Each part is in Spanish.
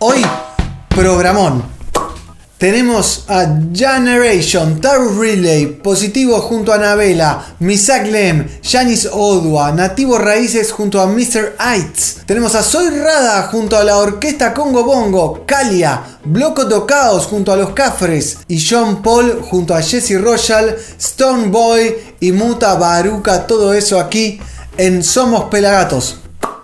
Hoy, programón. Tenemos a Generation, Taurus Riley, Positivo junto a Anabela, Misak Lem, Yanis Odua, Nativo Raíces junto a Mr. Aids. Tenemos a Soy Rada junto a la Orquesta Congo Bongo, Kalia, Bloco Tocaos junto a Los Cafres y John Paul junto a Jesse Royal, Stone Boy y Muta Baruca. Todo eso aquí en Somos Pelagatos.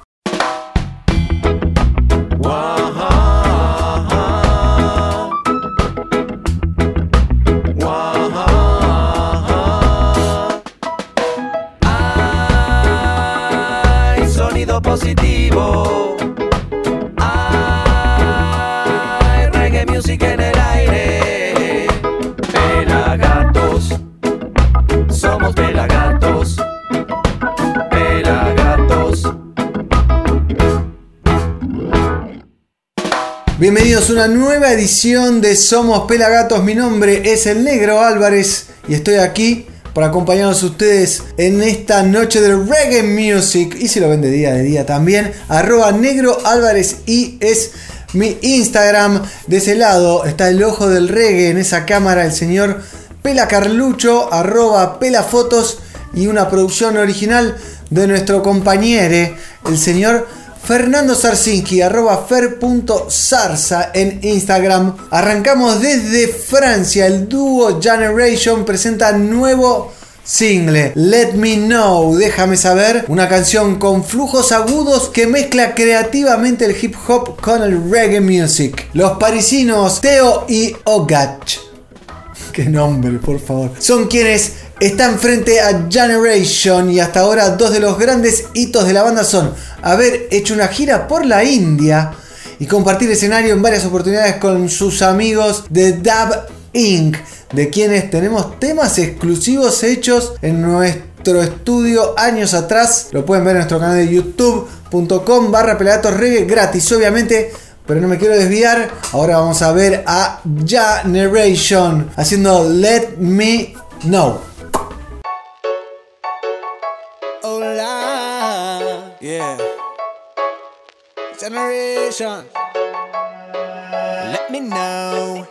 Positivo, hay reggae music en el aire. Pelagatos, somos pelagatos, pelagatos. Bienvenidos a una nueva edición de Somos Pelagatos. Mi nombre es el Negro Álvarez y estoy aquí para acompañarnos a ustedes en esta noche de reggae music. Y si lo ven de día también, @Negro Álvarez y es mi Instagram. De ese lado está el ojo del reggae, en esa cámara el señor Pela Carlucho, @Pelafotos, y una producción original de nuestro compañero, el señor Fernando Sarsinki, @fer.zarza en Instagram. Arrancamos desde Francia. El dúo Generation presenta nuevo single, Let Me Know, Déjame Saber, una canción con flujos agudos que mezcla creativamente el hip hop con el reggae music. Los parisinos Theo y Ogach, qué nombre, por favor, son quienes están frente a Generation, y hasta ahora dos de los grandes hitos de la banda son haber hecho una gira por la India y compartir escenario en varias oportunidades con sus amigos de Dub Inc., de quienes tenemos temas exclusivos hechos en nuestro estudio años atrás. Lo pueden ver en nuestro canal de youtube.com/Pelagatosreggae, gratis obviamente. Pero no me quiero desviar. Ahora vamos a ver a Generation haciendo Let Me Know. Hola, yeah. Generation, let me know.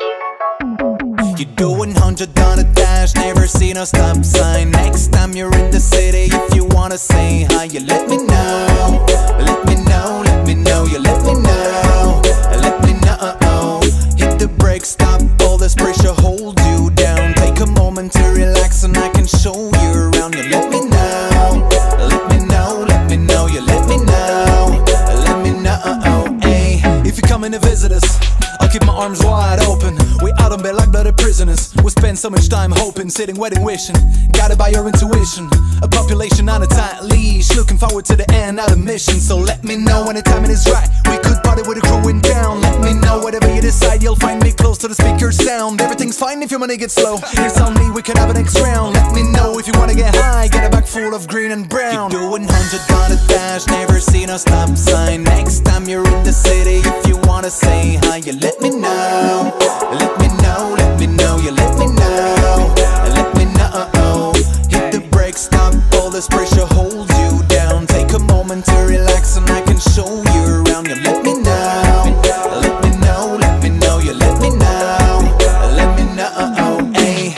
You're doing 100 on a dash, never seen a stop sign. Next time you're in the city, if you wanna say hi, you let me know. Let me know, let me know, you let me know. Let me know. Hit the brakes, stop all this pressure, hold you down. Take a moment to relax and I can show you around. You let me know. Let me know, let me know, you let me know. Let me know, hey. If you're coming to visit us, I'll keep my arms wide open. We out on bed like blooded prisoners. We spend so much time hoping, sitting, waiting, wishing. Guided by your intuition. A population on a tight leash, looking forward to the end, not a mission. So let me know when the timing is right. We could party with the crew in town. Let me know whatever you decide, you'll find me close to the speaker sound. Everything's fine if your money gets slow. It's on me, we can have a next round. Let me know if you wanna get high, get a bag full of green and brown. You're doing 100 on a dash, never seen a stop sign. Next time you're in the city, if you wanna say hi, you let me know. Let me know, let me know, you let me know. Let me know. Hit the brakes, stop all this pressure, hold you down. Take a moment to relax and I can show you around. You let me know. Let me know, let me know, you let me know. Let me know, hey.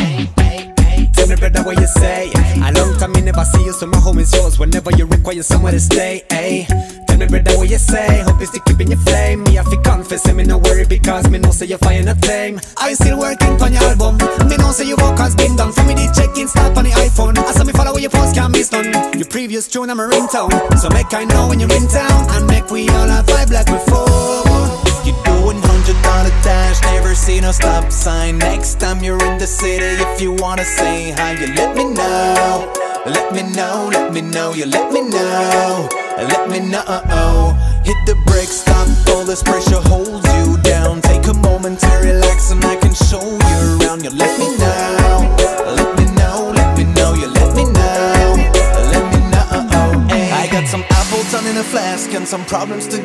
Tell me better what you say. A long time I never see you, so my home is yours whenever you require somewhere to stay, hey. Tell me better what you say, hope you still keeping your flame. Me have to confess, me no worry because me know say you're fine not tame. I still working on your album, me know say your work has been done. For me the check-in start on the iPhone, I saw me follow where your post can't miss done. Your previous tune I'm a ringtone, so make I know when you're in town. And make we all have vibe like before. You're doing 100 on a dash, never seen a stop sign. Next time you're in the city, if you wanna say hi, you let me know. Let me know, let me know, you let me know. Let me know. Hit the brakes, stop all this pressure, hold you down. Take a moment to relax and I can show you around. You let me know. Let me know, let me know, you let me know. Let me know, hey. I got some apple turn in a flask and some problems to get rid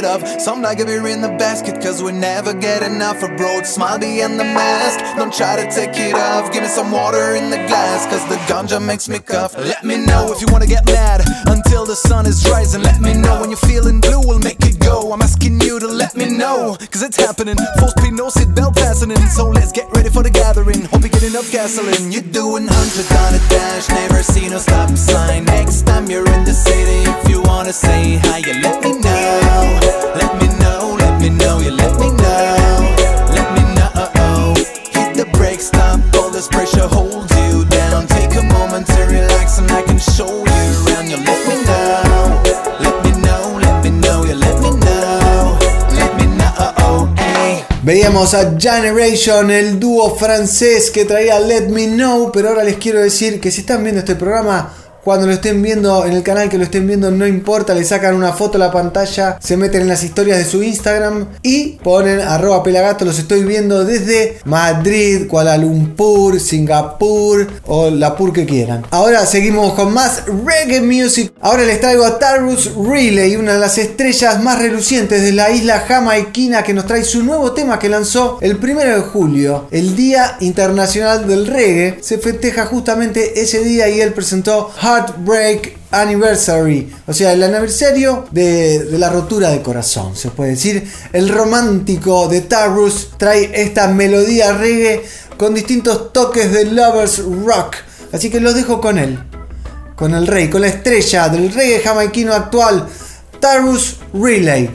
it off. Some like a beer in the basket, cause we never get enough. A broad smile behind the mask, don't try to take it off. Give me some water in the glass, cause the ganja makes me cough. Let me know if you wanna get mad until the sun is rising. Let me know when you're feeling blue, we'll make it go. I'm asking you to let me know, cause it's happening. Full speed, no seatbelt fastening. So let's get ready for the gathering. Hope you get enough gasoline. You're doing 100 on a dash, never seen no stop sign. Next time you're in the city, if you wanna say hi, you let me know. Let me know, let me know, you let me know. Let me know. Hit the brakes, stop all this pressure, hold you down. Take a moment to relax and I can show you around. You let me know. Let me know, let me know, you let me know. Let me know, hey. Veíamos a Generation, el dúo francés que traía Let Me Know, pero ahora les quiero decir que si están viendo este programa, cuando lo estén viendo en el canal que lo estén viendo, no importa, le sacan una foto a la pantalla, se meten en las historias de su Instagram y ponen @pelagato. Los estoy viendo desde Madrid, Kuala Lumpur, Singapur o la pur que quieran. Ahora seguimos con más reggae music. Ahora les traigo a Tarrus Riley, una de las estrellas más relucientes de la isla jamaiquina, que nos trae su nuevo tema que lanzó el 1 de julio, el Día Internacional del Reggae. Se festeja justamente ese día y él presentó Heartbreak Anniversary, o sea, el aniversario de la rotura de corazón, se puede decir. El romántico de Tarrus trae esta melodía reggae con distintos toques de lovers rock, así que los dejo con él, con el rey, con la estrella del reggae jamaiquino actual, Tarrus Riley.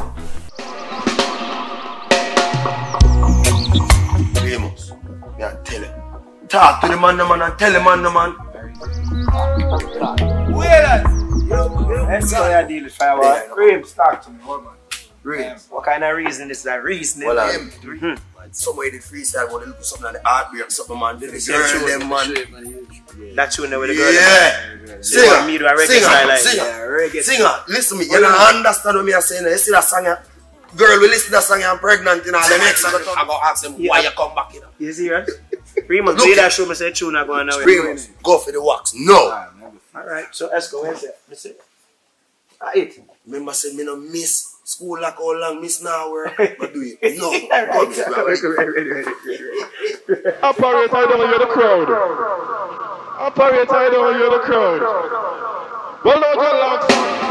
Talk to the man, and tell the man, man. Let's go there, deal with Firewall. Grahams, talk to me, hold on. Grahams. What kind of reason is that reason? Well, somebody they freestyle, but they look something like the heartbreak, something, man. The girl, them, man. That tune there with the girl. Yeah. Singer. Listen to me. You don't understand what me are saying. You see that song, girl, we listen to that song, I'm pregnant, you know, the next I go ask them why you come back, you know. You see, right? Remus, play that show, me say tune not going now. Remus, go for the wax. No. Alright, so let's go. Where's that? Let's see. It. Remember, say me no miss school like how long miss now work, but do it. No. Operator, I don't hear the crowd. Operator, I don't hear the crowd. Well, no, John Locks.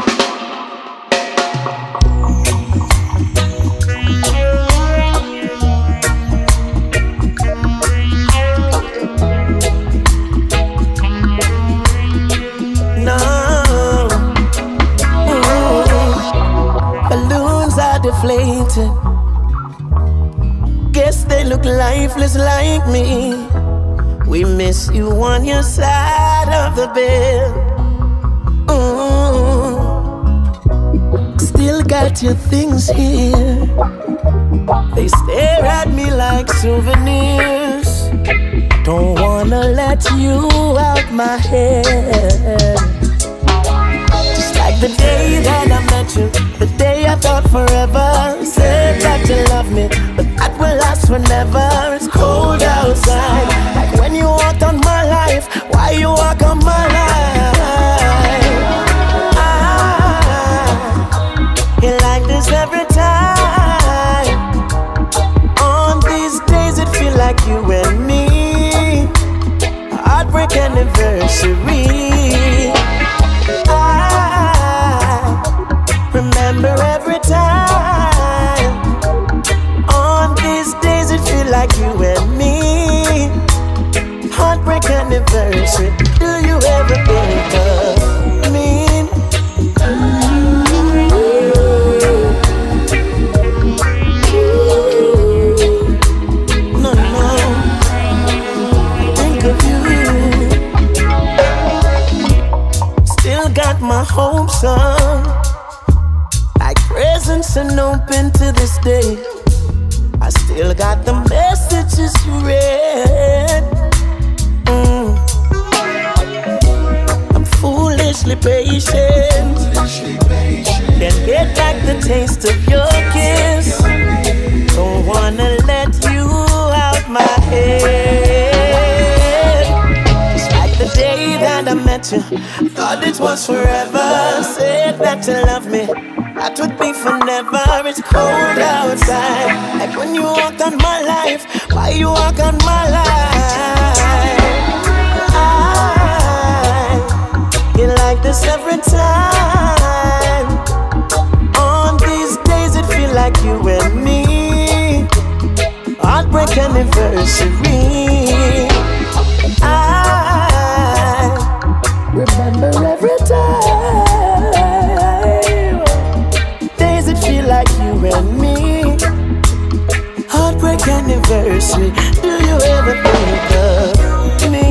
Deflated. Guess they look lifeless like me. We miss you on your side of the bed. Still got your things here. They stare at me like souvenirs. Don't wanna let you out my head. Like the day that I met you, the day I thought forever. Said that you love me, but that will last forever. It's cold outside, like when you walked on my life. Why you walk on my life? You like this every time. On these days it feel like you and me. Heartbreak anniversary. Remember every time. On these days it feel like you and me. Heartbreak anniversary. Do you ever think of me? No, think of you. Still got my hopes up, presents and open to this day. I still got the messages you read. I'm foolishly patient. Can't get back the taste of your kiss. Don't wanna let you out my head. Just like the day that I met you, thought it was forever. Said that you love me, that would be forever. It's cold outside, like when you walk on my life. Why you walk on my life? I like this every time. On these days it feel like you and me. Heartbreak anniversary. I remember every time. Days it feel like you and me. Heartbreak anniversary. Do you ever think of me?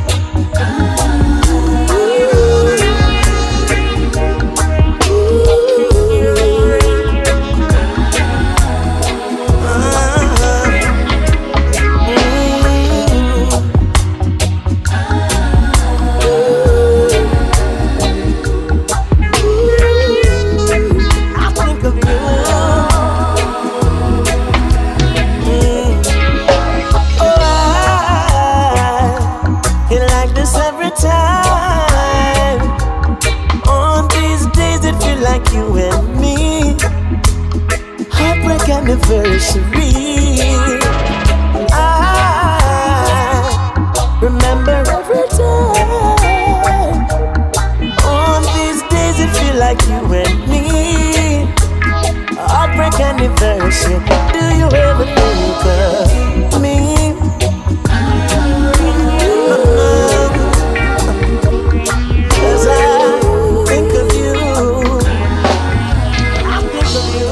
Anniversary. I remember every time. On these days it feel like you and me. Heartbreak anniversary. Do you ever think of me? Cause I think of you. I think of you.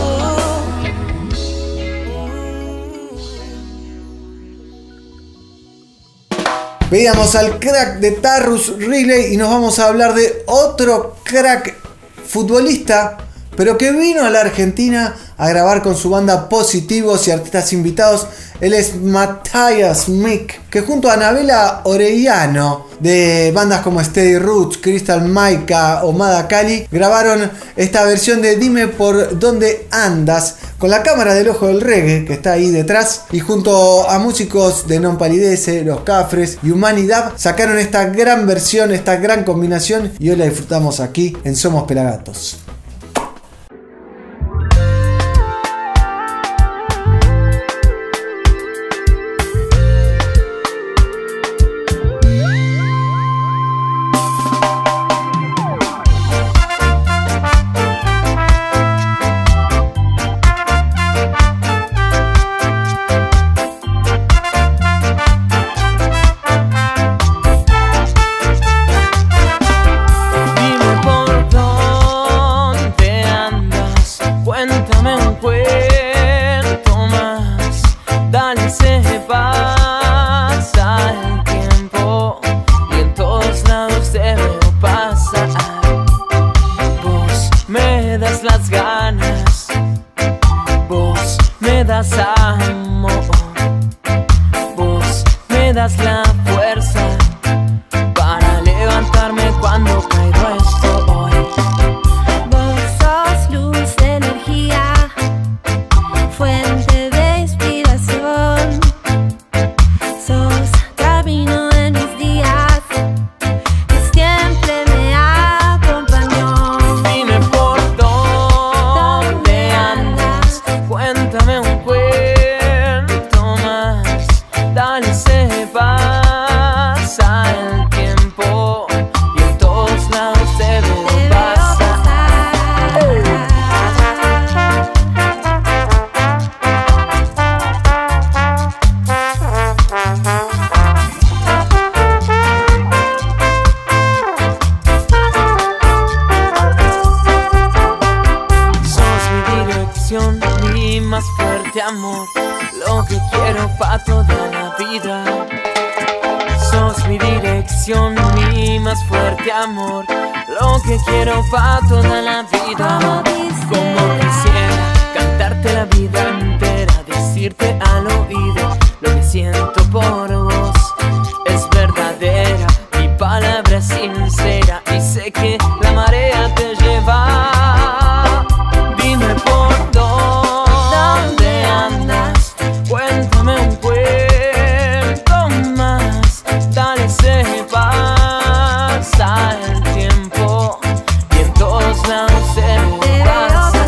Veíamos al crack de Tarrus Riley y nos vamos a hablar de otro crack futbolista, pero que vino a la Argentina a grabar con su banda Positivos y artistas invitados. Él es Matthias Mick, que junto a Anabela Orellano de bandas como Steady Roots, Crystal Maika o Mada Cali grabaron esta versión de Dime por dónde andas con la cámara del ojo del reggae que está ahí detrás, y junto a músicos de Non Palidece, Los Cafres y Humanidad sacaron esta gran versión, esta gran combinación, y hoy la disfrutamos aquí en Somos Pelagatos. pasa el tiempo y en todos lados se me pasa.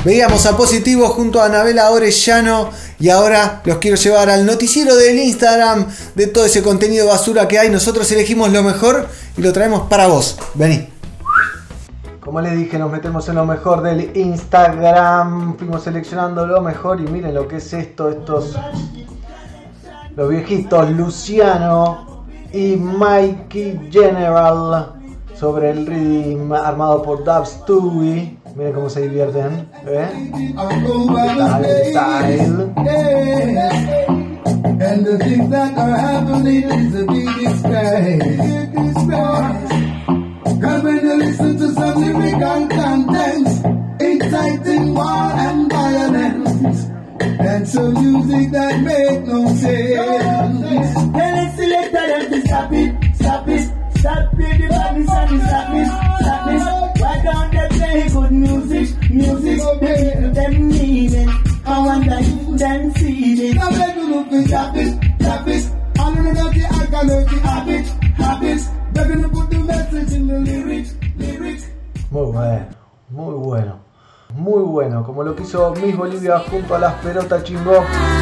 Veíamos a Positivo junto a Anabela Orellano y ahora los quiero llevar al noticiero del Instagram de todo ese contenido basura que hay. Nosotros elegimos lo mejor y lo traemos para vos. Vení. Como les dije, nos metemos en lo mejor del Instagram. Fuimos seleccionando lo mejor y miren lo que es esto. Los viejitos Luciano y Mikey General sobre el rhythm armado por Dub Stewie. Miren cómo se divierten. Style. And the things that are happening is the biggest cause when you listen to some lyrical contents, inciting war and violence, and some music that make no sense. Tell it, selector, them to stop it, stop it, stop it, the badness and the sadness. Why don't they play good music, they give them meaning. I wonder if them see it. Now they do look to stop it, all of the dirty alcoholic habits. They're gonna put the message in the lyrics. Muy bueno, como lo que hizo Miss Bolivia junto a las pelotas chingó.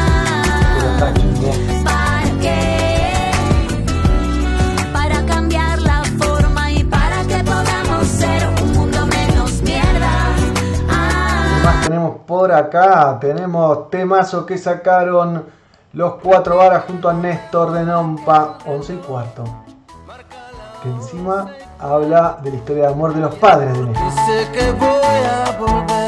¿Para qué? Para cambiar la forma y para que podamos ser un mundo menos mierda. ¿Qué más tenemos por acá? Tenemos temazo que sacaron los 4 varas junto a Néstor de Nompa, 11:15. Que encima habla de la historia de amor de los padres de Néstor. Sé que voy a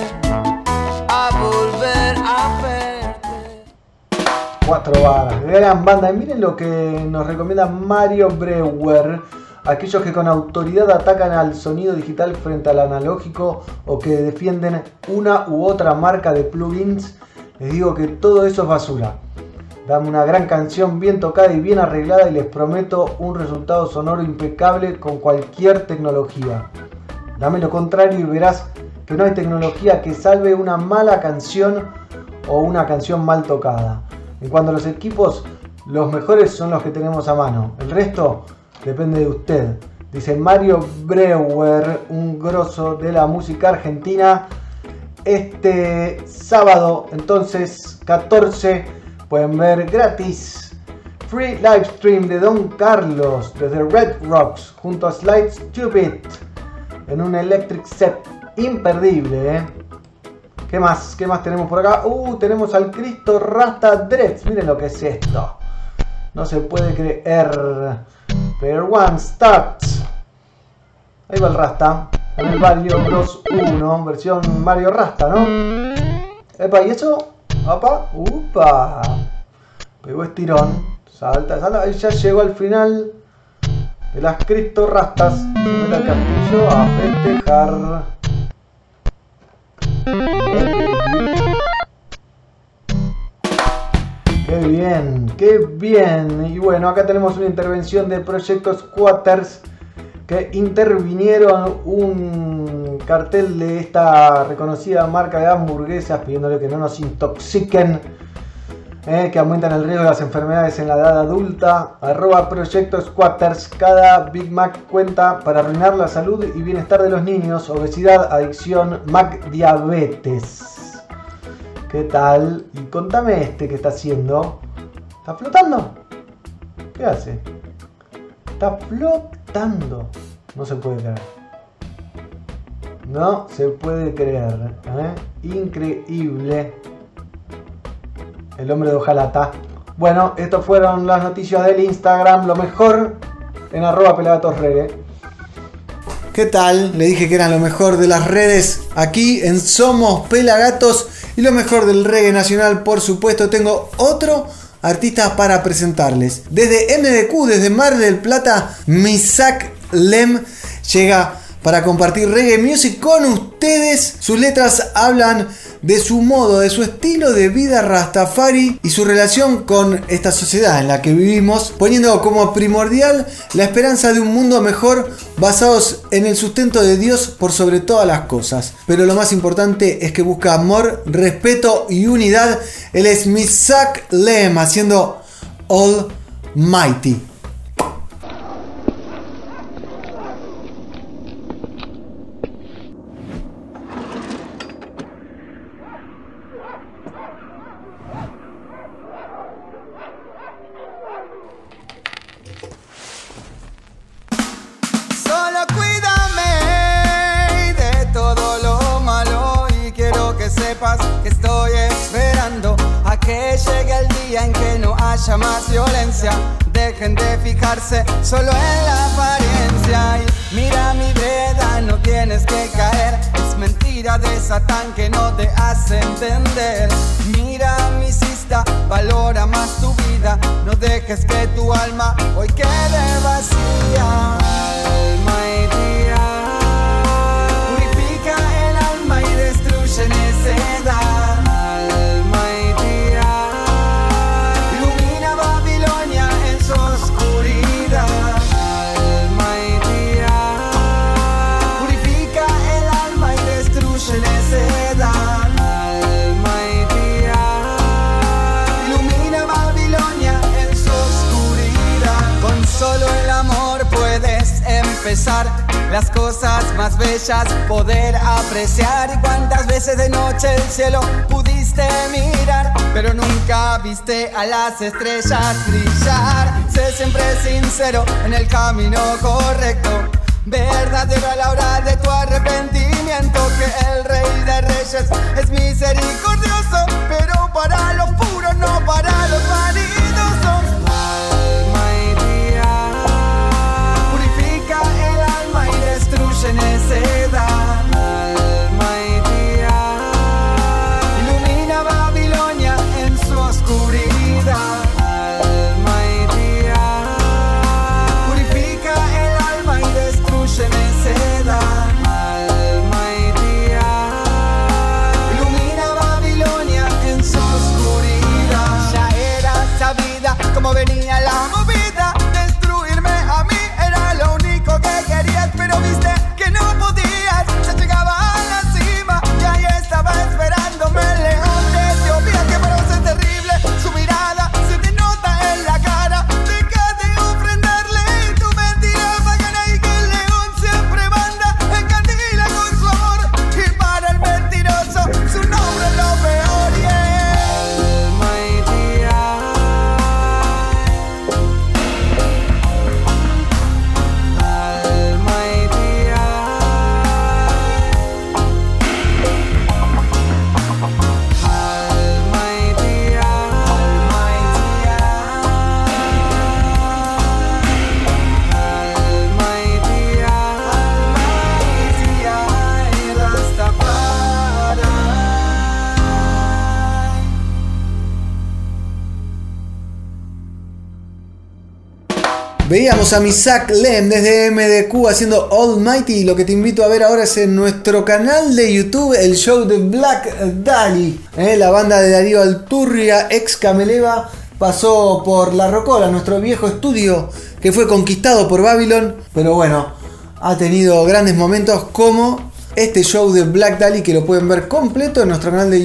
volver a verte. 4 varas, gran banda. Y miren lo que nos recomienda Mario Breuer. Aquellos que con autoridad atacan al sonido digital frente al analógico o que defienden una u otra marca de plugins, les digo que todo eso es basura. Dame una gran canción bien tocada y bien arreglada y les prometo un resultado sonoro impecable con cualquier tecnología. Dame lo contrario y verás que no hay tecnología que salve una mala canción o una canción mal tocada. En cuanto a los equipos, los mejores son los que tenemos a mano. El resto depende de usted. Dice Mario Breuer, un grosso de la música argentina. Este sábado, entonces, 14... pueden ver gratis free live stream de Don Carlos desde Red Rocks junto a Slide Stupid en un electric set imperdible. ¿Qué más tenemos por acá? Tenemos al Cristo Rasta Dreads. Miren lo que es esto. No se puede creer. Player One starts. Ahí va el Rasta en el Mario Bros 1 versión Mario Rasta, ¿no? Epa, ¿y eso? ¡Upa! Pegó estirón. Salta. Ahí ya llegó al final de las Cristo Rastas. Se mete al castillo a festejar. ¡Qué bien! Y bueno, acá tenemos una intervención de Proyecto Squatters que intervinieron un cartel de esta reconocida marca de hamburguesas pidiéndole que no nos intoxiquen, que aumentan el riesgo de las enfermedades en la edad adulta. @Proyecto Squatters. Cada Big Mac cuenta para arruinar la salud y bienestar de los niños, obesidad, adicción, Mac diabetes. ¿Qué tal? Y contame que está haciendo. ¿Está flotando? ¿Qué hace? Está flotando. No se puede creer. No se puede creer. Increíble. El hombre de hojalata. Bueno, estas fueron las noticias del Instagram. Lo mejor en @pelagatosreggae. ¿Qué tal? Le dije que eran lo mejor de las redes aquí en Somos Pelagatos. Y lo mejor del reggae nacional, por supuesto. Tengo otro artista para presentarles. Desde MDQ, desde Mar del Plata, Misak Lem llega para compartir reggae music con ustedes. Sus letras hablan de su modo, de su estilo de vida rastafari y su relación con esta sociedad en la que vivimos, poniendo como primordial la esperanza de un mundo mejor basados en el sustento de Dios por sobre todas las cosas. Pero lo más importante es que busca amor, respeto y unidad. Él es Misak Lem haciendo Almighty. llegue el día en que no haya más violencia. Dejen de fijarse solo en la apariencia. Y mira mi vereda, no tienes que caer. Es mentira de Satán que no te hace entender. Mira mi sista, valora más tu vida. No dejes que tu alma hoy quede vacía. Alma y día, purifica el alma y destruye necedad. Alma y día, ilumina Babilonia en su oscuridad. Alma y día, purifica el alma y destruye necedad. Alma y día, ilumina Babilonia en su oscuridad. Con solo el amor puedes empezar las cosas más bellas, poder apreciar. Y cuántas veces de noche el cielo pudiste mirar, pero nunca viste a las estrellas brillar. Sé siempre sincero en el camino correcto, verdadero a la hora de tu arrepentimiento. Que el Rey de Reyes es misericordioso, pero para los puros, no para los vanidosos. Alma y día, purifica el alma y destruye necedad. Alma y día, ilumina Babilonia en su oscuridad. Alma y día, purifica el alma y destruye necedad. Alma y día, ilumina Babilonia en su oscuridad. Ya era sabida cómo venía la movida. Destruirme a mí era lo único que querías, pero viste que no podías. Ya llegaba a la cima y ahí estaba esperándome el león de Etiopía. Que para vos es terrible su mirada, se te nota en la cara. Deja de ofrendarle tu mentira pagana, y que el león siempre manda, encandila con su amor. Y para el mentiroso su nombre es lo peor. Alma y día, alma y día, alma y día, alma y día, alma y día, alma y día, y Rastafari. Veíamos a Misak Lem desde MDQ haciendo Almighty, y lo que te invito a ver ahora es en nuestro canal de YouTube el show de Black Dahlia. La banda de Darío Alturria, ex Cameleva, pasó por La Rocola, nuestro viejo estudio que fue conquistado por Babylon, pero bueno, ha tenido grandes momentos como este show de Black Dahlia, que lo pueden ver completo en nuestro canal de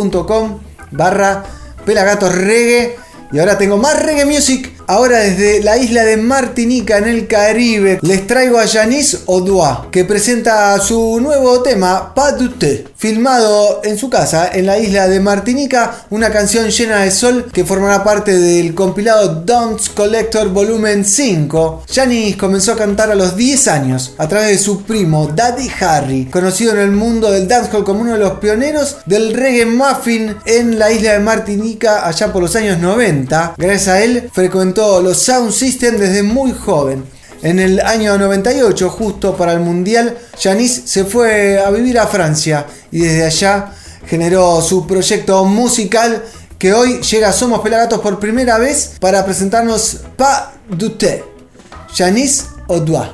youtube.com/PelagatosReggae. Y ahora tengo más reggae music. Ahora desde la isla de Martinica en el Caribe les traigo a Yanis Odua, que presenta su nuevo tema Pas du Thé, filmado en su casa en la isla de Martinica, una canción llena de sol que formará parte del compilado Dance Collector Volumen 5. Yanis comenzó a cantar a los 10 años a través de su primo Daddy Harry, conocido en el mundo del dancehall como uno de los pioneros del reggae muffin en la isla de Martinica allá por los años 90. Gracias a él frecuentó los Sound System desde muy joven. En el año 98, justo para el Mundial, Yanis se fue a vivir a Francia y desde allá generó su proyecto musical, que hoy llega a Somos Pelagatos por primera vez para presentarnos Pas du Thé. Yanis Odua.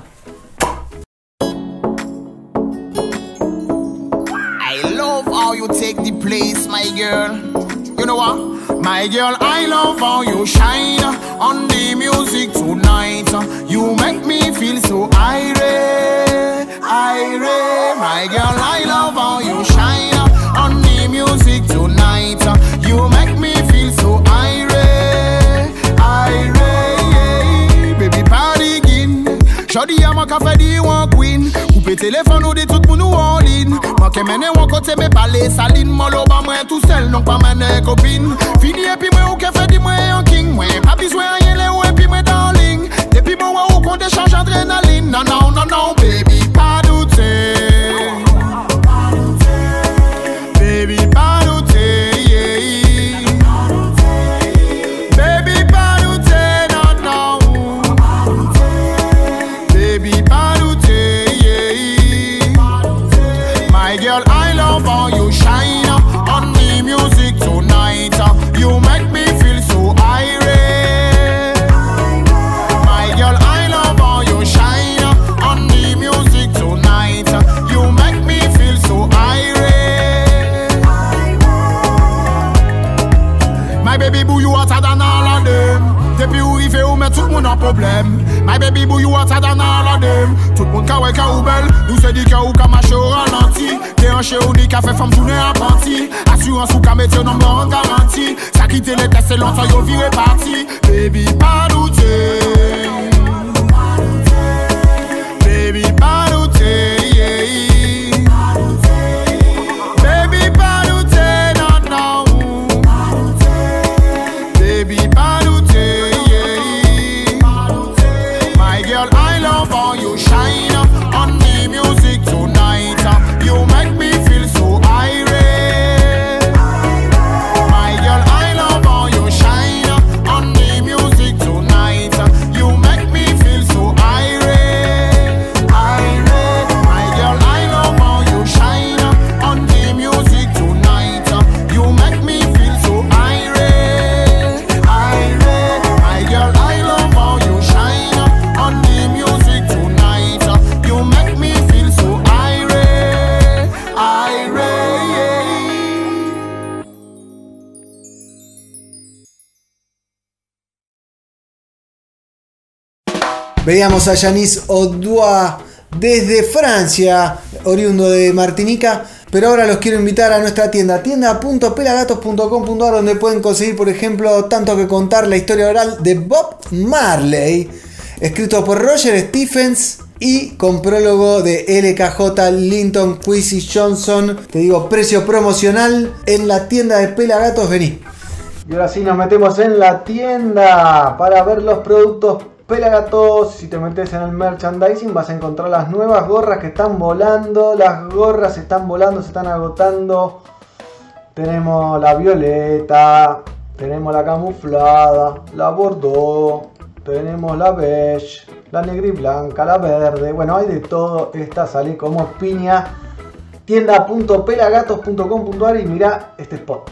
I love how you take the place, my girl. You know what? My girl, I love how you shine on the music tonight. You make me feel so irate, irate. My girl, I love how you shine on the music tonight. You make me feel so irate, irate. Baby, party again. Shoddy, I'm a cafe, di one queen. Coupe téléphone ou de tout pour nous all in. Moi qui mène un côté, mais pas les salines. Moi, l'oba, moi tout seul, non pas mener copine. Fini et puis moi, ou qui fait, dis-moi un king. Moi, pas besoin rien, les ou et puis moi, darling. Depuis moi, ou qu'on échange adrénaline. Non, non, non, non, baby, pas douter. Baby, pas douter, yeah. tout le monde a problème. My baby boo, you hotter than all of them. Tout le monde ka wè ka ou belle. Nous se dit que ou ka marche au ralenti. T'es un chez ou ni ka fait femme tourner en partie. Assurance ou ka mette non en garantie. Ça quitte les tests c'est longtemps yo viré parti. Baby pas douter. Baby pas douter. Baby pas douter, non non. Baby pas douter. My girl, I love how you shine on the music tonight. You make me feel so irate. My girl, I love how you shine on the music tonight. You make me feel so irate. Irate. My girl, I love how you shine on the music tonight. You make me feel so irate. Irate. My girl, I love how you shine on the music tonight. You make me feel so irate. Irate. Veíamos a Yanis Odua desde Francia, oriundo de Martinica, pero ahora los quiero invitar a nuestra tienda, tienda.pelagatos.com.ar, donde pueden conseguir, por ejemplo, Tanto que contar, la historia oral de Bob Marley, escrito por Roger Stephens y con prólogo de LKJ Linton Kwesi Johnson. Te digo, precio promocional en la tienda de Pelagatos, vení. Y ahora sí nos metemos en la tienda para ver los productos Pelagatos. Si te metes en el merchandising vas a encontrar las nuevas gorras que están volando. Las gorras están volando, se están agotando. Tenemos la violeta, tenemos la camuflada, la bordeaux, tenemos la beige, la negra y blanca, la verde. Bueno, hay de todo. Esta sale como piña. Tienda.pelagatos.com.ar y mira este spot.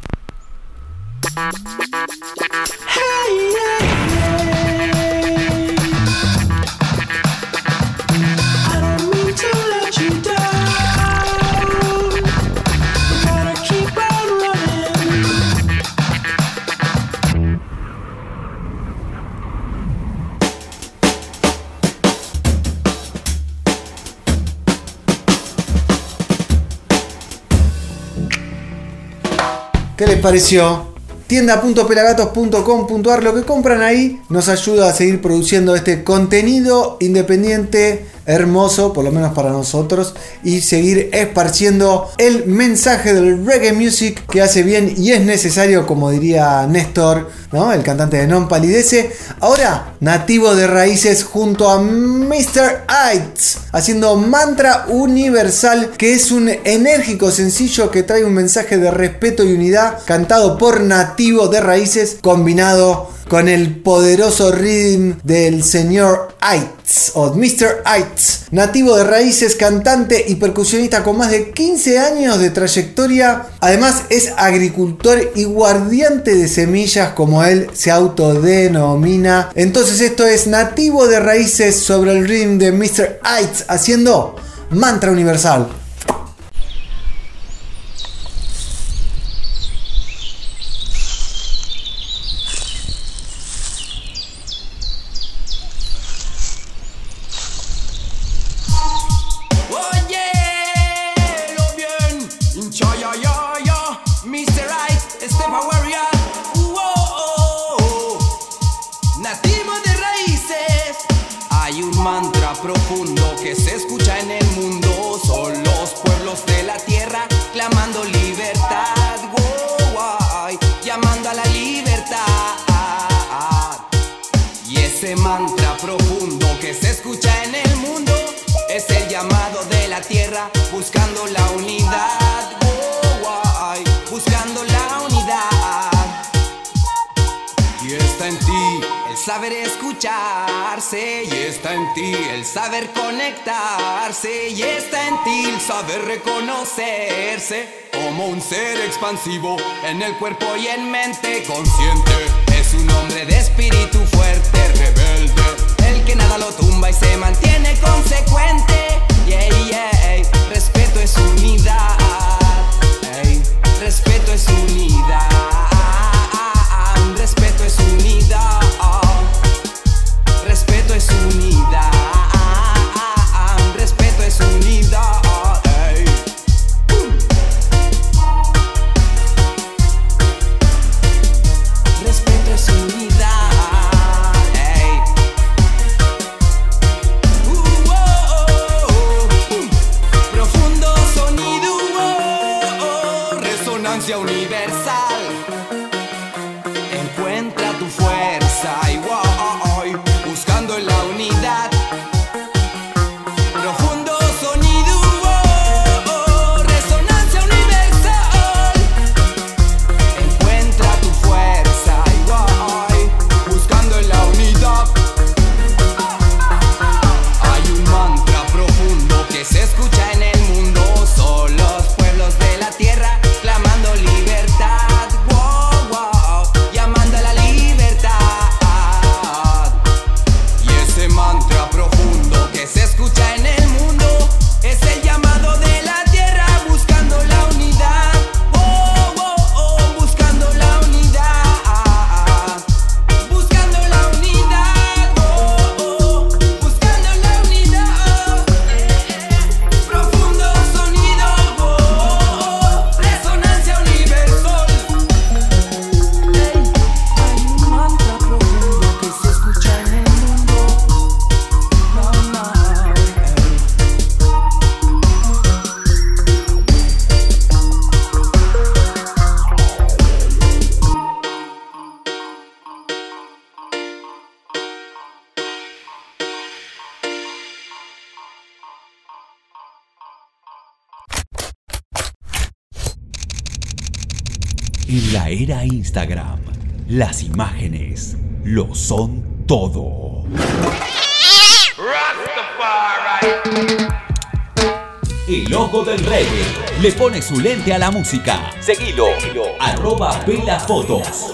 ¿Qué les pareció? Tienda.pelagatos.com.ar. Lo que compran ahí nos ayuda a seguir produciendo este contenido independiente, hermoso, por lo menos para nosotros, y seguir esparciendo el mensaje del reggae music que hace bien y es necesario, como diría Néstor, ¿no? El cantante de Non Palidece. Ahora, nativo de raíces junto a Mr. Ites, haciendo Mantra Universal, que es un enérgico sencillo que trae un mensaje de respeto y unidad, cantado por nativo de raíces, combinado con el poderoso rhythm del señor Ites, o Mr. Ites, nativo de raíces, cantante y percusionista con más de 15 años de trayectoria. Además es agricultor y guardiante de semillas, como él se autodenomina. Entonces esto es nativo de raíces sobre el rhythm de Mr. Ites haciendo Mantra Universal. Saber conectarse y está en ti el saber reconocerse como un ser expansivo en el cuerpo y en mente consciente. Es un hombre de espíritu fuerte, rebelde, el que nada lo tumba y se mantiene consecuente. Yeah, yeah, respeto es unidad, hey, respeto es unidad, respeto es unidad. En la era Instagram, las imágenes lo son todo. El ojo del reggae le pone su lente a la música. Seguilo, @pelafotos.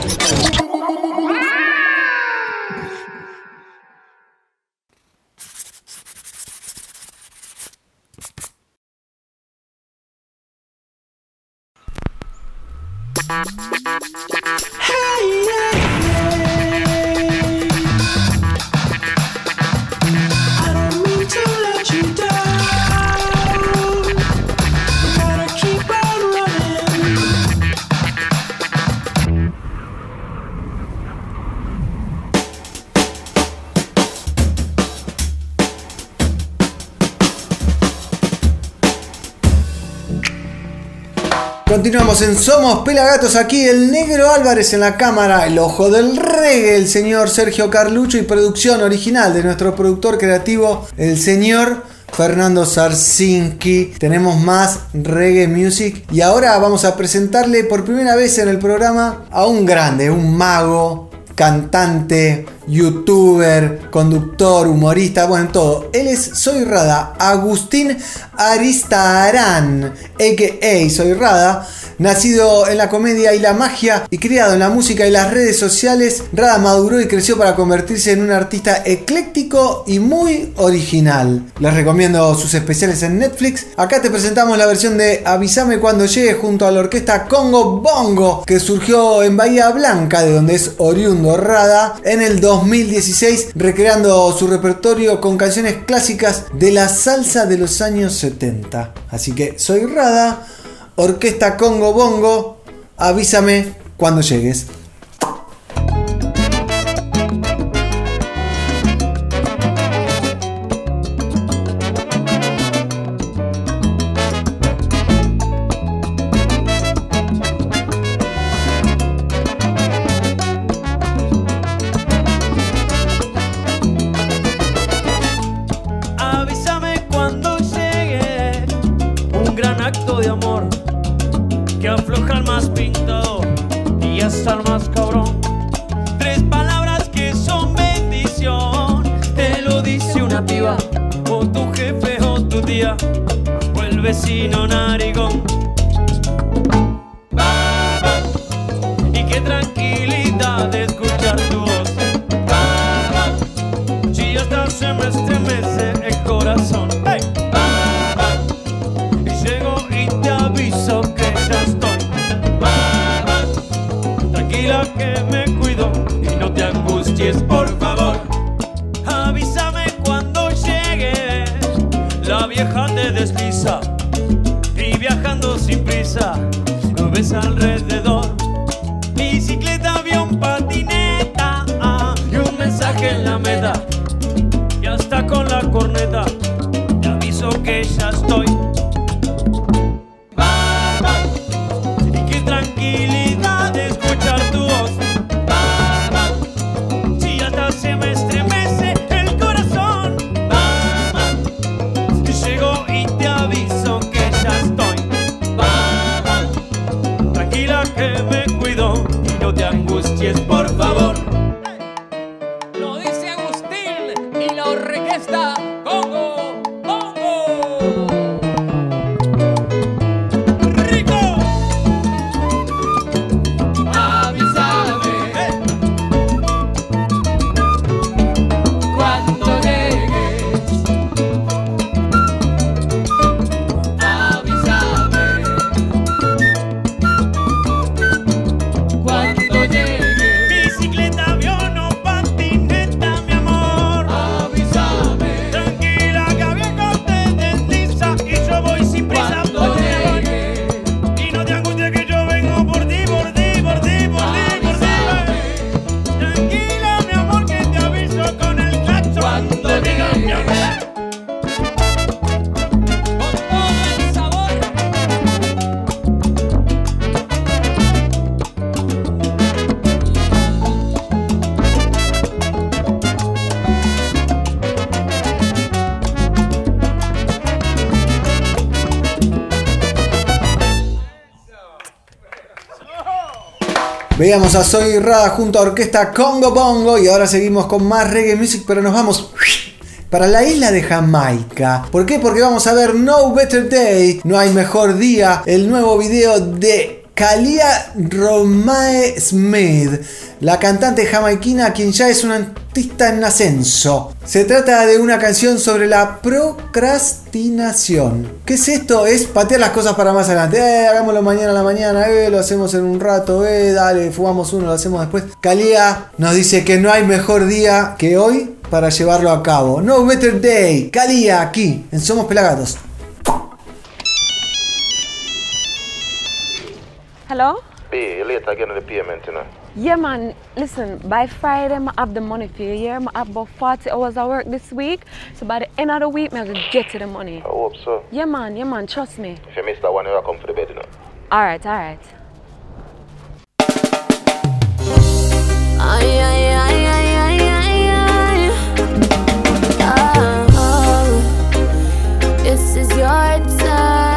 Continuamos en Somos Pelagatos, aquí el Negro Álvarez en la cámara, el ojo del reggae, el señor Sergio Carlucho, y producción original de nuestro productor creativo, el señor Fernando Sarsinski. Tenemos más reggae music y ahora vamos a presentarle por primera vez en el programa a un grande, un mago, cantante, youtuber, conductor, humorista, bueno, todo. Él es Soy Rada, Agustín Aristarán, a.k.a. Soy Rada. Nacido en la comedia y la magia y criado en la música y las redes sociales, Rada maduró y creció para convertirse en un artista ecléctico y muy original. Les recomiendo sus especiales en Netflix. Acá te presentamos la versión de Avísame cuando llegue junto a la orquesta Congo Bongo, que surgió en Bahía Blanca, de donde es oriundo Rada, en el 2016, recreando su repertorio con canciones clásicas de la salsa de los años 70. Así que Soy Rada, Orquesta Congo Bongo, avísame cuando llegues. Avísame cuando llegue un gran acto de amor que afloja al más pintado y hasta el más cabrón. 3 palabras que son bendición, te lo dice una piba, o tu jefe o tu tía, o el vecino narigón. Y qué tranquilidad de escuchar tu voz. Si hasta se me estremece el corazón. ¡Hey! Y llego y te aviso que ya estoy. Tranquila que me cuido y no te angusties, por favor. Avísame cuando llegue. La vieja te desliza y viajando sin prisa lo ves alrededor. Bicicleta, avión, patineta, y un mensaje en la meta. Y hasta con la corneta te aviso que ya estoy. Y qué tranquilidad de escuchar tu voz. Si hasta se me estremece el corazón. Llego y te aviso que ya estoy. Tranquila que me cuido y no te angusties, por favor. Lo dice Agustín. Veíamos a Zoe Rada junto a Orquesta Congo Bongo y ahora seguimos con más reggae music, pero nos vamos para la isla de Jamaica. ¿Por qué? Porque vamos a ver No Better Day, No Hay Mejor Día, el nuevo video de Kalia Romae Smith, la cantante jamaiquina quien ya es una artista en ascenso. Se trata de una canción sobre la procrastinación. ¿Qué es esto? Es patear las cosas para más adelante. Hagámoslo mañana a la mañana, lo hacemos en un rato, dale, fumamos uno, lo hacemos después. Kalia nos dice que no hay mejor día que hoy para llevarlo a cabo. No Better Day. Kalia aquí en Somos Pelagatos. Hello? B, you late again on the payment, you know. Yeah, man. Listen, by Friday, I have the money for you. Yeah, I have about 40 hours of work this week. So by the end of the week, I'm going to get you the money. I hope so. Yeah, man. Trust me. If you miss that one, you'll come for the bed, you know. All right. Ay, ay, ay, ay, ay, ay, ay. Oh, this is your time.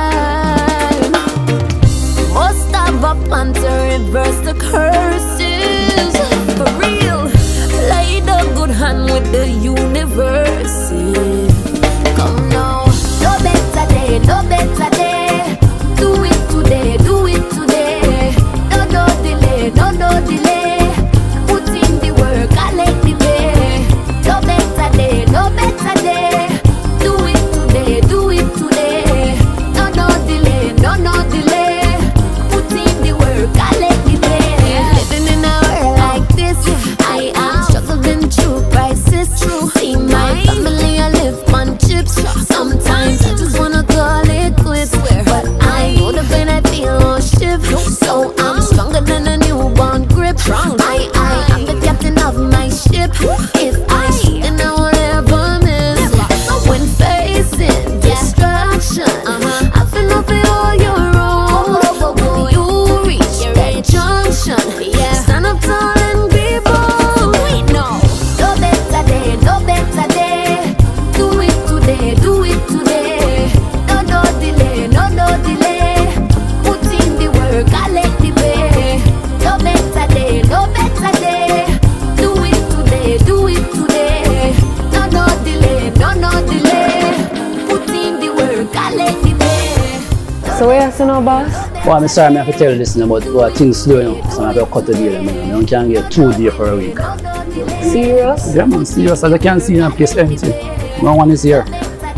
Must have a plan to reverse the curses. For real, play the good hand with the universe. Come now, no better day, no better day. Do it today, do it today. No delay, no delay. Put in the work, I let the day. No better day, no better day. Do it today, do it today. No delay, no delay. Put in the work, I let the day. Living in a world like this, I am struggling through crisis. See my family, I live on chips. Sometimes I just wanna call it quits, but I know the pain I feel won't shift. So I'm stronger than a newborn grip. I'm the captain of my ship. If I shoot, then I won't ever miss. When facing destruction, I feel I feel all your own. When you reach that junction, stand up tall and be bold. No better day, no better day. Do it today, do it today. No delay, no delay. Put in the work, I let the pay. No better day, no better day. Do it today, do it today. No delay, no delay. Put in the work, I let the pay. So what you say now, boss? Well, I'm sorry, I have to tell you this, but things slow, you know, so I have to cut the deal. You can't get 2 days for a week. Serious? Yeah, man, serious. As you can see, the place empty. No one is here.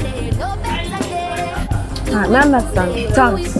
Alright, I understand. Thanks.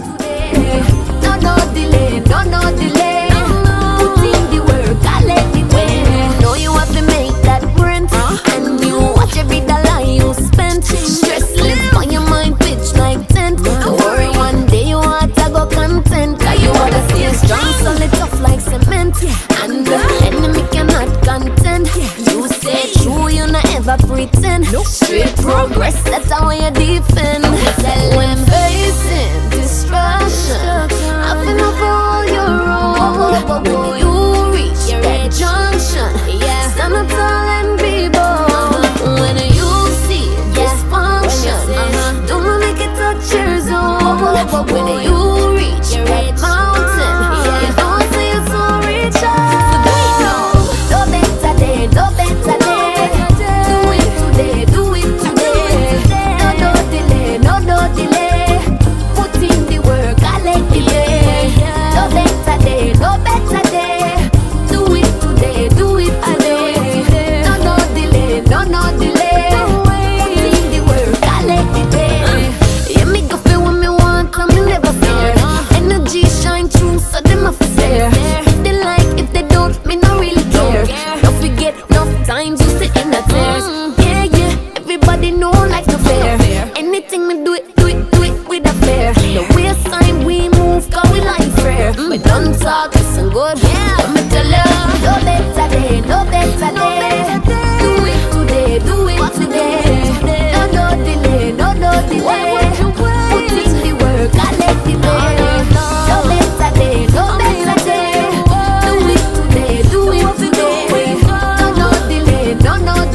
No delay, no delay. Put in the work, I let the pay. Know you have to make that rent, and you watch every dollar you spend. Stress live on your mind, pitch like tent. Don't worry, one day you want to go content. Cause you wanna stay strong, solid, tough like cement. And the enemy cannot contend. You say true, you not ever pretend. Straight progress, that's how you defend. When facing destruction, I feel up all your own. When you reach that junction, stand up tall and be bold. When you see dysfunction, don't make it touch your zone. When you reach that mountain, don't say it's so reach out. No better day, no better day. Do it today, do it today. No delay, no delay. Put in the work, I let the pay. No better day, no better day. Do it today, do it today. No delay, no delay. Put in the work, I let the pay. Yeah, me go feel what me want, I'm never fear. Energy shine through, so them a fair. If they like, if they don't, me no really care. Don't forget, enough times you sit in the tears. Yeah, everybody know like no fair. Anything we do it with a fair. The waistline we move, cause we like fair. But don't talk, listen good. Let me tell you, no better day, no better day. Do it today, do it today. No delay, no delay. Put in the work, I let the pay. No better day, no better day. Do it today, do it today. No delay, no delay.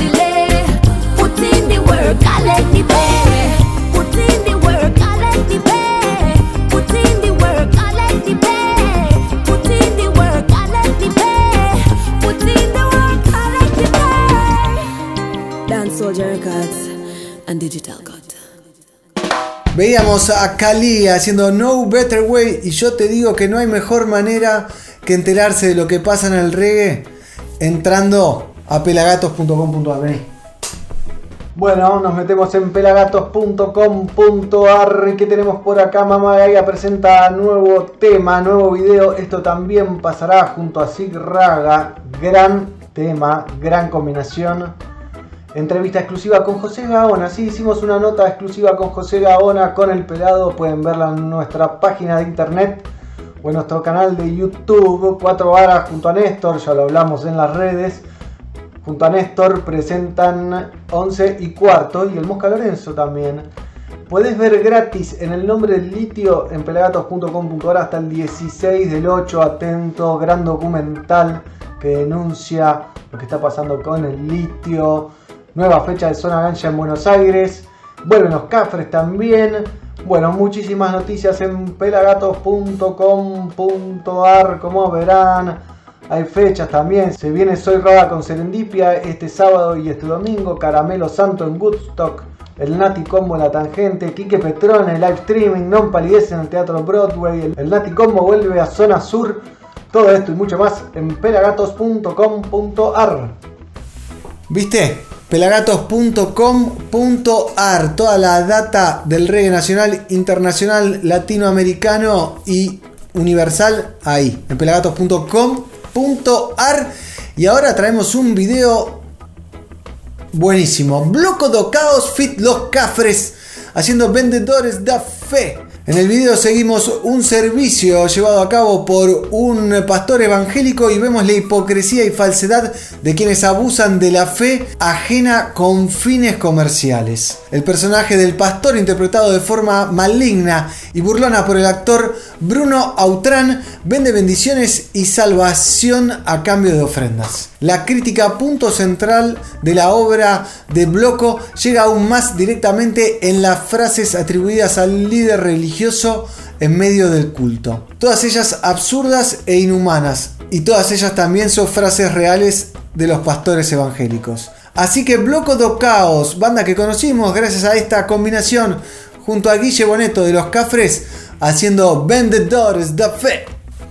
Soldier Records and Digital God. Veíamos a Kali haciendo No Better Way, y yo te digo que no hay mejor manera que enterarse de lo que pasa en el reggae entrando a pelagatos.com.ar. Vení. Bueno, nos metemos en pelagatos.com.ar. ¿Qué tenemos por acá? Mamá Gaia presenta nuevo tema, nuevo video. Esto también pasará junto a Sig Raga. Gran tema, gran combinación. Entrevista exclusiva con José Gaona. Sí, hicimos una nota exclusiva con José Gaona, con el pelado. Pueden verla en nuestra página de internet o en nuestro canal de YouTube. 4 varas junto a Néstor, ya lo hablamos en las redes. Junto a Néstor presentan 11 y cuarto, y el Mosca Lorenzo también. Puedes ver gratis en el nombre del litio en pelagatos.com.ar hasta el 16 del 8. Atento, gran documental que denuncia lo que está pasando con el litio. Nueva fecha de Zona Ganja en Buenos Aires. Vuelven los Cafres también. Bueno, muchísimas noticias en pelagatos.com.ar. Como verán, hay fechas también. Se viene Soy Raga con Serendipia este sábado y este domingo. Caramelo Santo en Woodstock. El Nati Combo en La Tangente. Quique Petrone, live streaming. Non Palidez en el Teatro Broadway. El Nati Combo vuelve a Zona Sur. Todo esto y mucho más en pelagatos.com.ar. ¿Viste? Pelagatos.com.ar. Toda la data del reggae nacional, internacional, latinoamericano y universal ahí, en pelagatos.com.ar. Y ahora traemos un video buenísimo. Bloco do Caos fit Los Cafres haciendo Vendedores da Fe. En el video seguimos un servicio llevado a cabo por un pastor evangélico y vemos la hipocresía y falsedad de quienes abusan de la fe ajena con fines comerciales. El personaje del pastor, interpretado de forma maligna y burlona por el actor Bruno Autrán, vende bendiciones y salvación a cambio de ofrendas. La crítica, punto central de la obra de Bloco, llega aún más directamente en las frases atribuidas al líder religioso en medio del culto. Todas ellas absurdas e inhumanas, y todas ellas también son frases reales de los pastores evangélicos. Así que Bloco do Caos, banda que conocimos gracias a esta combinación junto a Guille Boneto de Los Cafres, haciendo Vendedores da Fe.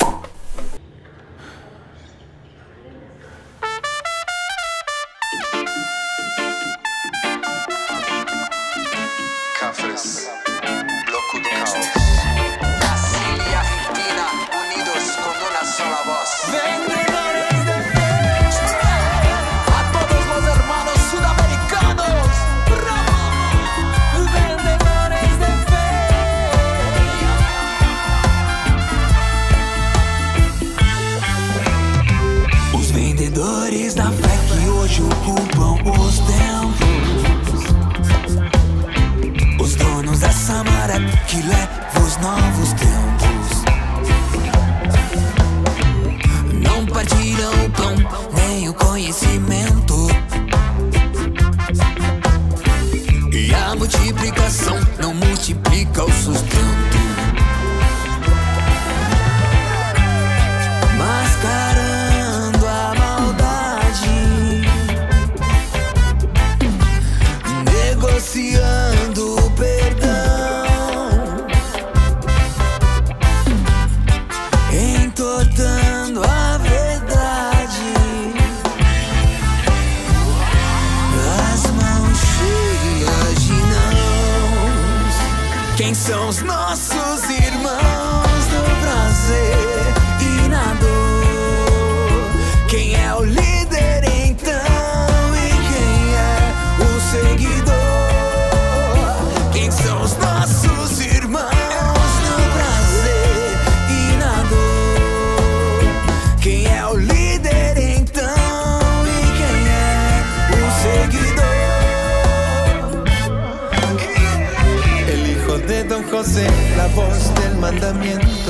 La voz del mandamiento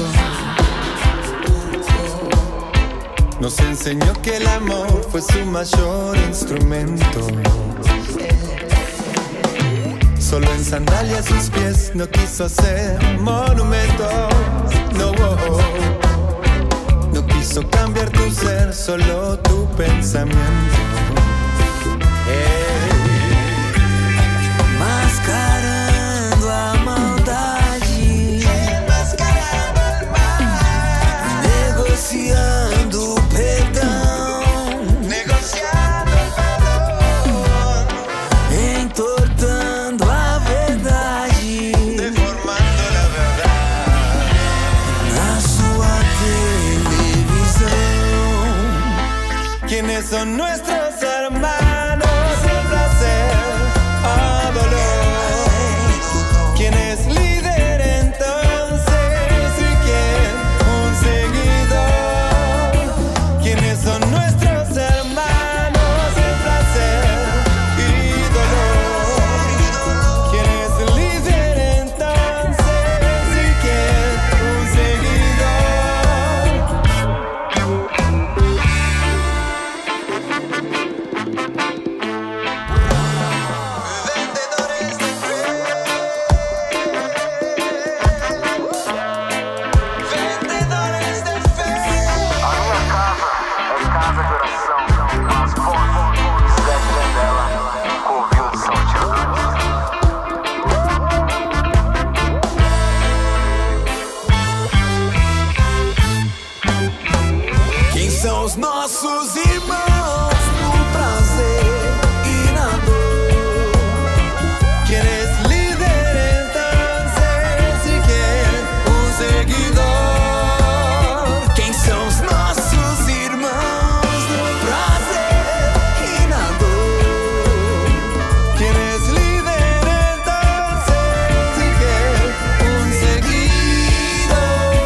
nos enseñó que el amor fue su mayor instrumento. Solo en sandalias sus pies no quiso hacer monumentos. No, no quiso cambiar tu ser, solo tu pensamiento. son nuestros hermanos, sin placer o dolor. ¿Quién es líder entonces y quién un seguidor? ¿Quiénes son nuestros hermanos, sin placer y dolor? ¿Quién es líder entonces y quién un seguidor? Quem são os nossos irmãos no prazer e na dor? ¿Quién es líder entonces y quién un seguidor? Quem são os nossos irmãos no prazer e na dor? ¿Quién es líder entonces y quién un seguidor?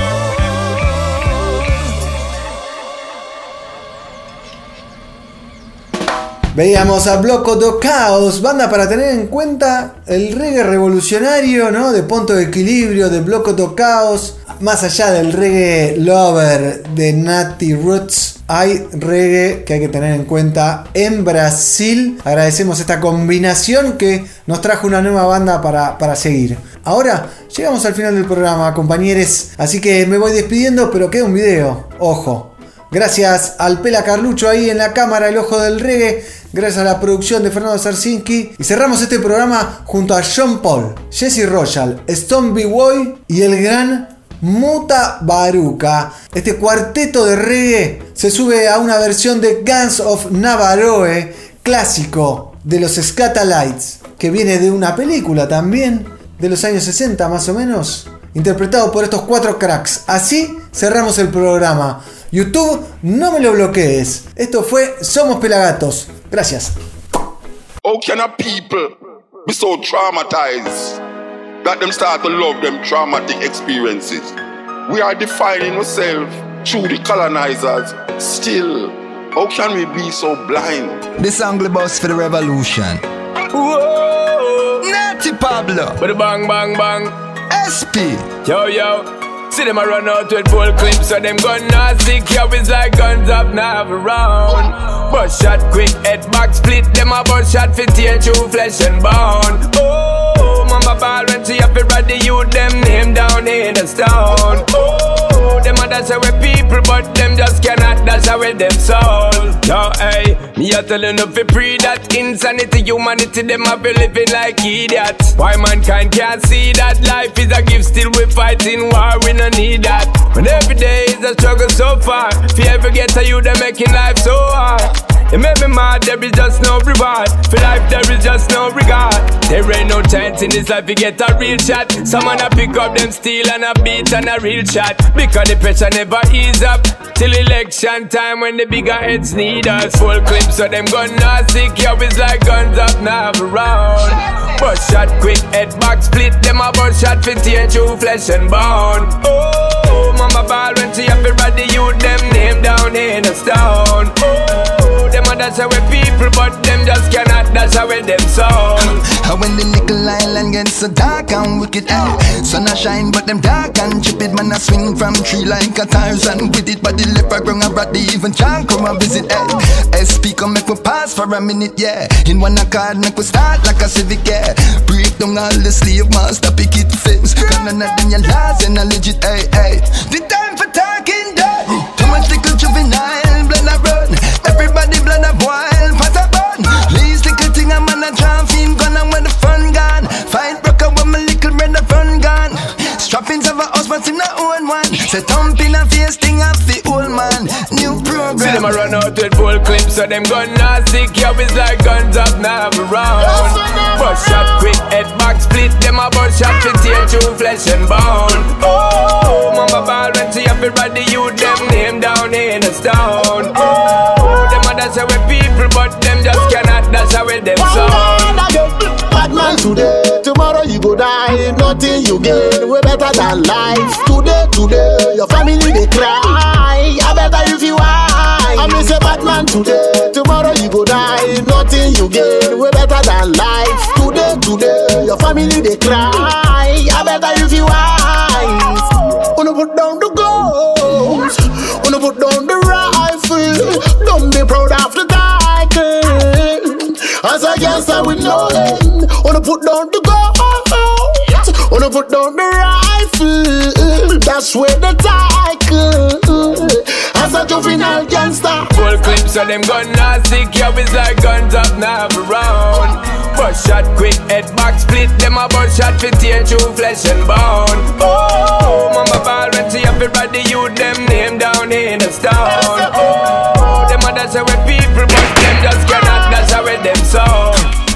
Veíamos a Bloco do Caos, banda para tener en cuenta el reggae revolucionario, ¿no? De Ponto de Equilibrio, de Bloco do Caos. Más allá del reggae lover de Natty Roots, hay reggae que hay que tener en cuenta en Brasil. Agradecemos esta combinación que nos trajo una nueva banda para seguir. Ahora llegamos al final del programa, compañeros, así que me voy despidiendo, pero queda un video, ojo. Gracias al Pela Carlucho ahí en la cámara, el ojo del reggae. Gracias a la producción de Fernando Sarsinki. Y cerramos este programa junto a Sean Paul, Jesse Royal, Stone B. Boy y el gran Muta Baruca. Este cuarteto de reggae se sube a una versión de Guns of Navarone, clásico de los Scatalites, que viene de una película también, de los años 60 más o menos, interpretado por estos cuatro cracks. Así cerramos el programa. YouTube, no me lo bloquees. Esto fue Somos Pelagatos. Gracias. How can a people be so traumatized that them start to love them traumatic experiences? We are defining ourselves through the colonizers. Still, how can we be so blind? This angle bus for the revolution. Whoa, Natty Pablo. But bang, bang, bang. SP. Yo, yo. See them a run out with full clips, so them gun not sick. Yo, it's like guns up now around. Bust shot quick, head back split. Them a bust shot for tear through flesh and bone. Oh, mama ball when she up it right the youth, them name down in the stone. Oh, them a dash away people, but them just cannot dash away them soul. Yo, hey, me a tellin' up for pre that insanity, humanity, them a be living like idiots. Why mankind can't see that life is a gift, still we fighting war, we no need that. When every day is a struggle so far, if you ever get to you, they're making life so hard. You make me mad, there is just no reward. For life there is just no regard. There ain't no chance in this life you get a real shot. Someone a pick up them steel and a beat and a real shot. Because the pressure never ease up till election time when the bigger heads need us. Full clips so them gun not sick, yo, it's like guns up now around. Bust shot quick, head back split. Them a bust shot for tear through flesh and bone. Oh, mama ball when she up it right the youth, them name down in the stone. Oh, them a dash away people, but them just cannot dash away them soul. And when the nickel island gets so dark and wicked, sun a shine but them dark and chip man a swing from tree like a Tarzan with it, but the leper ground a brat, they even can't come and visit. SP come make we pass for a minute, yeah. In one accord make we start like a civic, yeah. Break down all the slave master picket fence, cause none of them your laws and a legit, hey. The time for talking dirty, too much little juvenile, blend a run. Everybody blend up wild, pot a bun. Least little thing a man a jump in, gun and when the fun gone. Fight broke up when my little brother fun gone. Strappings of a house but him not own one. Say thump in a face thing off the old man. New program. See them a run out with full clips, so them gun not sick, yo, it's like guns up now around. Bust shot quick, head back split. Them a bust shot for tear through flesh and bone. Oh, mama ball when she up it right the youth, them name down in the stone. Oh, them a others say we people, but them just cannot. That's how we them so. Bad man today, tomorrow you go die. Nothing you gain, way better than life. Today, your family they cry. I better if you high. I miss a bad man today, tomorrow you go die. Nothing you gain, way better than life. Today, your family they cry. I better if you high. Wanna put down the guns, wanna put down the rifle. Don't be proud of the title. As a gangster with no end, wanna put down the guns, wanna put down the rifle. That's where the title. As a juvenile gangster, full clips of them gun nasty. Carries like guns up now around. Bust shot quick, head back split. Them a bust shot for tear through flesh and bone. Oh, mama ball when she have everybody you them name down in the stone. Oh, them others say we people, but them just cannot. That's how we them so.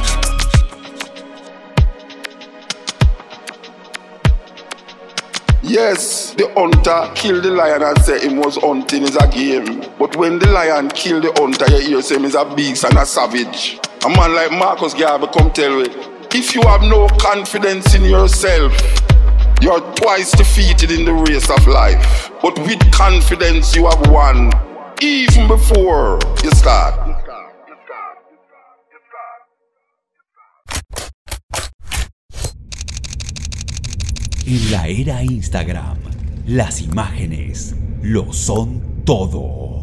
Yes, the hunter killed the lion and say him was hunting is a game. But when the lion killed the hunter, you hear say him is a beast and a savage. A man like Marcus Garvey come tell you, if you have no confidence in yourself, you are twice defeated in the race of life. But with confidence you have won, even before you start. En la era Instagram, las imágenes lo son todo.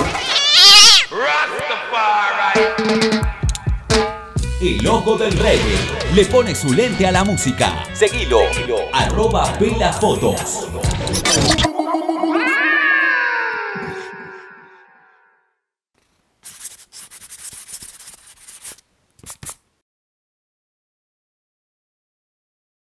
El ojo del reggae le pone su lente a la música. Seguilo. @pelafotos.